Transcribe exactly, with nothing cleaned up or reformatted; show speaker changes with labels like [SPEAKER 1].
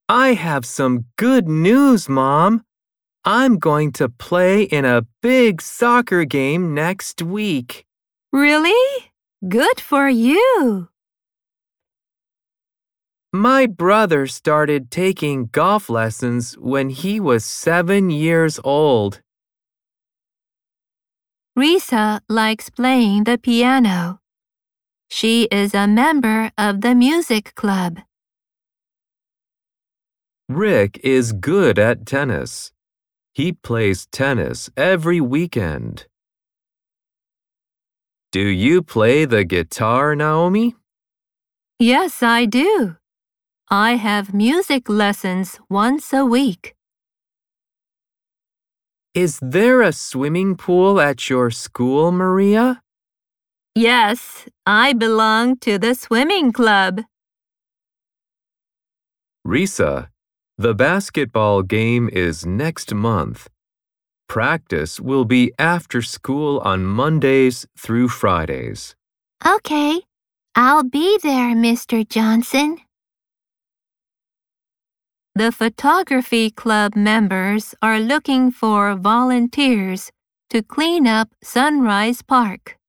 [SPEAKER 1] I have some good news, Mom. I'm going to play in a big soccer game next week.
[SPEAKER 2] Really? Good for you.
[SPEAKER 1] My brother started taking golf lessons when he was seven years old.
[SPEAKER 2] Risa likes playing the piano. She is a member of the music club.
[SPEAKER 1] Rick is good at tennis. He plays tennis every weekend. Do you play the guitar, Naomi?
[SPEAKER 2] Yes, I do. I have music lessons once a week.
[SPEAKER 1] Is there a swimming pool at your school, Maria?
[SPEAKER 2] Yes, I belong to the swimming club.
[SPEAKER 1] Risa, the basketball game is next month. Practice will be after school on Mondays through Fridays.
[SPEAKER 2] Okay, I'll be there, Mister Johnson. The photography club members are looking for volunteers to clean up Sunrise Park.